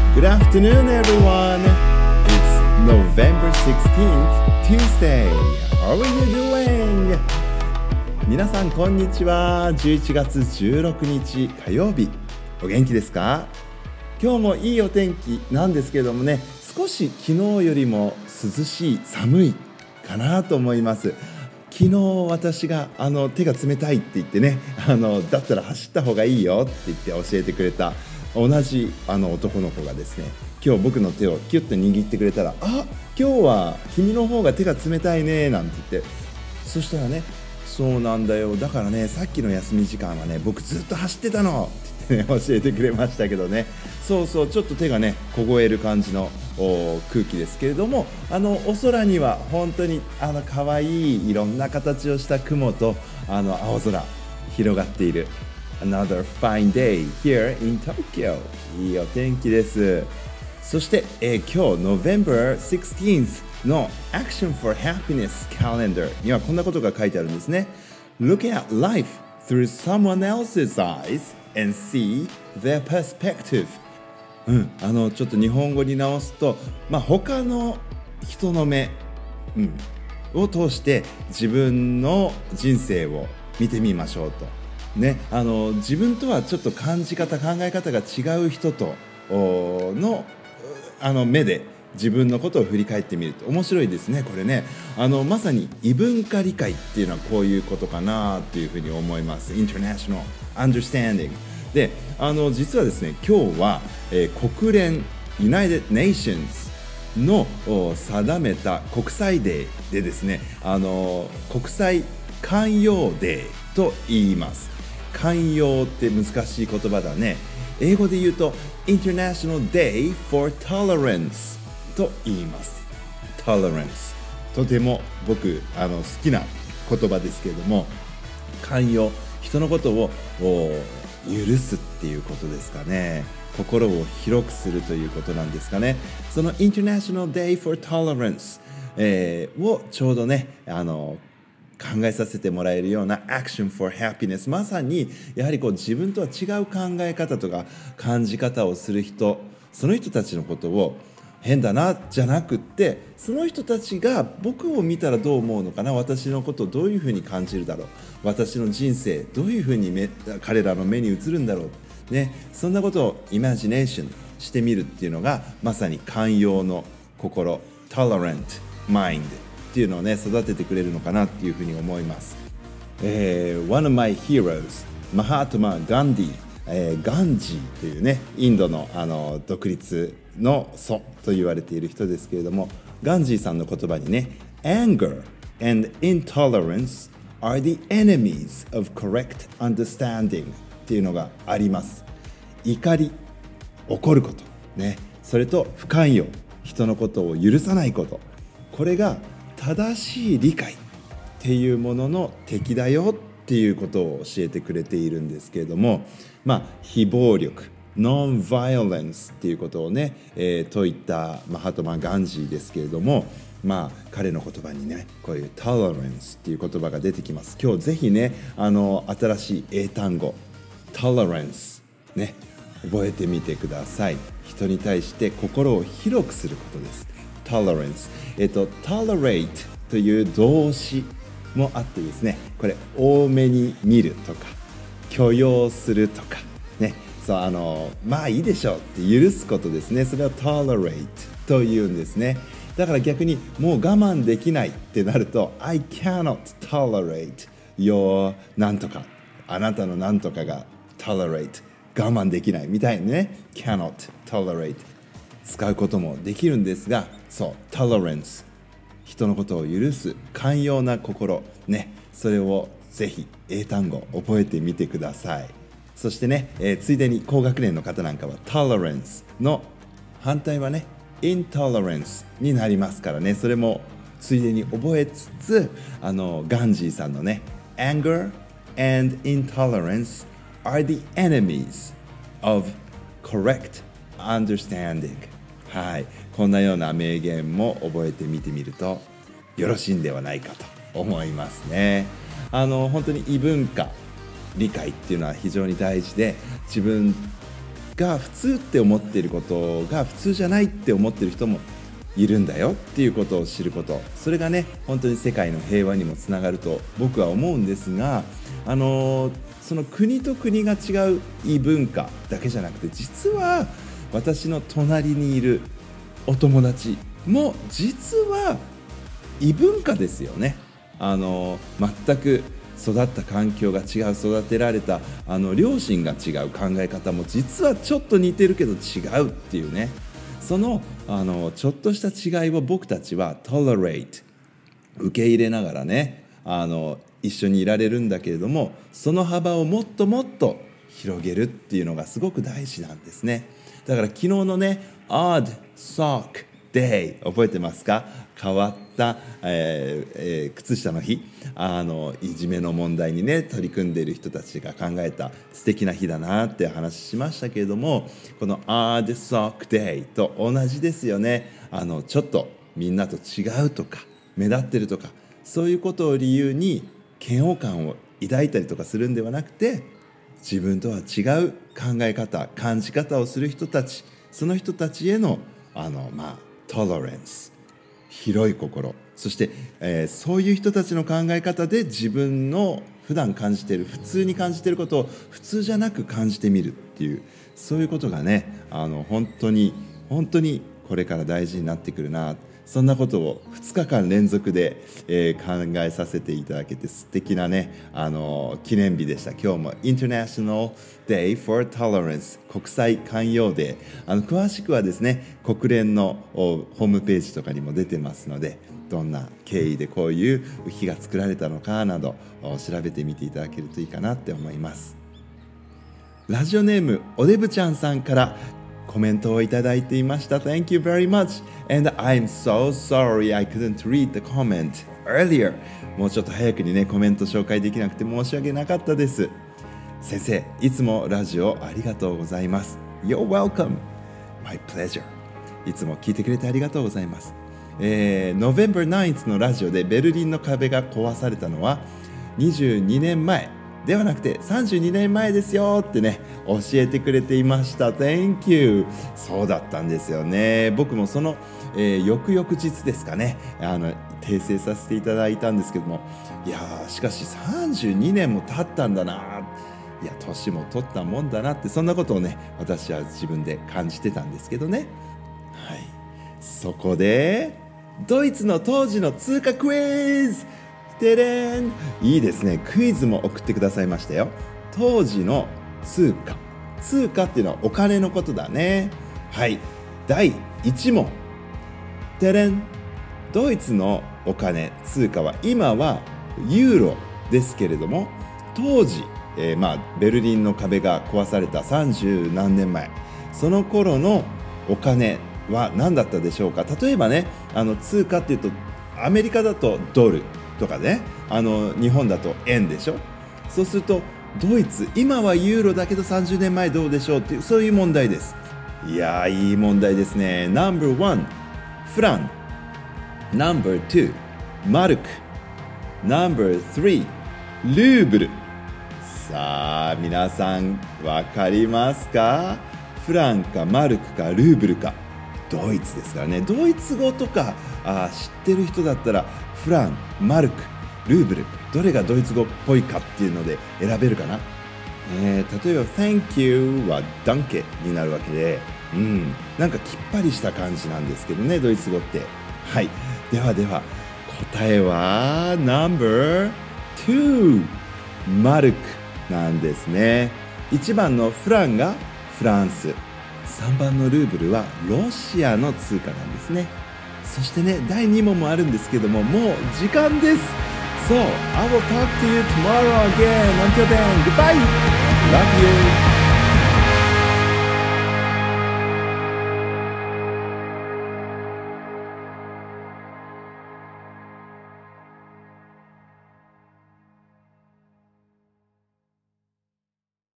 Good afternoon, everyone. It's November 16th, Tuesday. How are you doing? 皆さん、こんにちは。11月16日火曜日。お元気ですか？今日もいいお天気なんですけれどもね、少し昨日よりも涼しい、寒いかなと思います。昨日私が手が冷たいって言ってね、だったら走った方がいいよって言って教えてくれた同じ男の子がですね、今日僕の手をキュッと握ってくれたら、あ、今日は君の方が手が冷たいねなんて言って、そしたらね、そうなんだよ、だからね、さっきの休み時間はね、僕ずっと走ってたのって言ってね、教えてくれましたけどね。そうそう、ちょっと手がね凍える感じの空気ですけれども、お空には本当に可愛いいろんな形をした雲と青空広がっている Another fine day here in Tokyo。 いいお天気です。そして、今日 November 16th の Action for Happiness Calendar にはこんなことが書いてあるんですね。 Look at life through someone else's eyes and see their perspective。ちょっと日本語に直すと、他の人の目、を通して自分の人生を見てみましょうと、ね、自分とはちょっと感じ方、考え方が違う人との目で自分のことを振り返ってみると面白いですね。これね、まさに異文化理解っていうのはこういうことかなというふうに思います。 International Understandingで、実はですね、今日は、国連 United Nations の定めた国際デーでですね、国際寛容デーと言います。寛容って難しい言葉だね。英語で言うと International Day for Tolerance と言います。 Tolerance、 とても僕好きな言葉ですけれども、寛容、人のことを許すっていうことですかね。心を広くするということなんですかね。その International Day for Tolerance、をちょうどね考えさせてもらえるような Action for Happiness、 まさにやはり自分とは違う考え方とか感じ方をする人、その人たちのことを変だなじゃなくって、その人たちが僕を見たらどう思うのかな、私のことをどういうふうに感じるだろう、私の人生どういうふうに彼らの目に映るんだろう、ね、そんなことをイマジネーションしてみるっていうのがまさに寛容の心、 Tolerant Mind っていうのをね育ててくれるのかなっていうふうに思います。One of my heroes、 マハトマ・ガンディ、ガンジーというね、インドの独立の祖と言われている人ですけれども、ガンジーさんの言葉にね、 Anger and intolerance are the enemies of correct understanding っていうのがあります。怒り、怒ること、ね、それと不寛容、人のことを許さないこと、これが正しい理解っていうものの敵だよっていうことを教えてくれているんですけれども、非暴力、ノンバイオレンスっていうことをね、といったマハトマ・ガンジーですけれども、彼の言葉にね、こういうトレランスっていう言葉が出てきます。今日ぜひね、新しい英単語トレランスね、覚えてみてください。人に対して心を広くすることです。トレランス、tolerate という動詞もあってですね、これ多めに見るとか許容するとかね、そういいでしょうって許すことですね。それを tolerate というんですね。だから逆にもう我慢できないってなると I cannot tolerate your なんとか、あなたのなんとかが tolerate 我慢できないみたいにね、 cannot tolerate 使うこともできるんですが、そう tolerance、 人のことを許す寛容な心ね、それをぜひ英単語覚えてみてください。そしてね、ついでに高学年の方なんかは tolerance の反対はね intolerance になりますからね、それもついでに覚えつつ、ガンジーさんのね Anger and intolerance are the enemies of correct understanding、 はい、こんなような名言も覚えてみてみるとよろしいんではないかと思いますね。本当に異文化理解っていうのは非常に大事で、自分が普通って思っていることが普通じゃないって思っている人もいるんだよっていうことを知ること、それがね本当に世界の平和にもつながると僕は思うんですが、その国と国が違う異文化だけじゃなくて、実は私の隣にいるお友達も実は異文化ですよね。全く育った環境が違う、育てられた両親が違う、考え方も実はちょっと似てるけど違うっていうね、そのちょっとした違いを僕たちは tolerate 受け入れながらね一緒にいられるんだけれども、その幅をもっともっと広げるっていうのがすごく大事なんですね。だから昨日のね Odd Sock Day 覚えてますか？変わった、靴下の日、いじめの問題にね取り組んでいる人たちが考えた素敵な日だなって話しましたけれども、この Odd Sock Day と同じですよね。ちょっとみんなと違うとか目立ってるとか、そういうことを理由に嫌悪感を抱いたりとかするんではなくて、自分とは違う考え方、感じ方をする人たち、その人たちへのトラレンス、広い心、そして、そういう人たちの考え方で自分の普段感じている、普通に感じていることを普通じゃなく感じてみるっていう、そういうことがね本当にこれから大事になってくるな、そんなことを2日間連続で、考えさせていただけて素敵なね記念日でした。今日も International Day for Tolerance 国際寛容デー、詳しくはですね国連のホームページとかにも出てますので、どんな経緯でこういう日が作られたのかなど調べてみていただけるといいかなって思います。ラジオネームおでぶちゃんさんからコメントをいただいていました。 Thank you very much and I'm so sorry I couldn't read the comment earlier。 もうちょっと早くにねコメント紹介できなくて申し訳なかったです。先生、いつもラジオありがとうございます。 You're welcome, my pleasure。 いつも聞いてくれてありがとうございます。November 9th のラジオでベルリンの壁が壊されたのは22年前ではなくて32年前ですよってね教えてくれていました。 Thank you。 そうだったんですよね。僕もその、翌々日ですかね訂正させていただいたんですけども、いやしかし32年も経ったんだな、いや年も取ったもんだなって、そんなことをね私は自分で感じてたんですけどね。はい、そこでドイツの当時の通貨クイズ、てれん、いいですね、クイズも送ってくださいましたよ。当時の通貨っていうのはお金のことだね。はい、第1問、てれん、ドイツのお金通貨は今はユーロですけれども、当時、ベルリンの壁が壊された30何年前、その頃のお金は何だったでしょうか。例えばね通貨っていうとアメリカだとドルとかね日本だと円でしょ。そうするとドイツ今はユーロだけど30年前どうでしょうっていう、そういう問題です。いやいい問題ですね。 No.1 フラン、 No.2 マルク、 No.3 ルーブル。さあ皆さん分かりますか？フランかマルクかルーブルか。ドイツですからね。ドイツ語とか知ってる人だったらフラン、マルク、ルーブル、どれがドイツ語っぽいかっていうので選べるかな。例えば Thank you はダンケになるわけで、なんかきっぱりした感じなんですけどね、ドイツ語って。はい、では答えは No.2 マルクなんですね。1番のフランがフランス、3番のルーブルはロシアの通貨なんですね。そしてね第2問もあるんですけども、もう時間です。So I will talk to you tomorrow again. Until then, goodbye. Love you.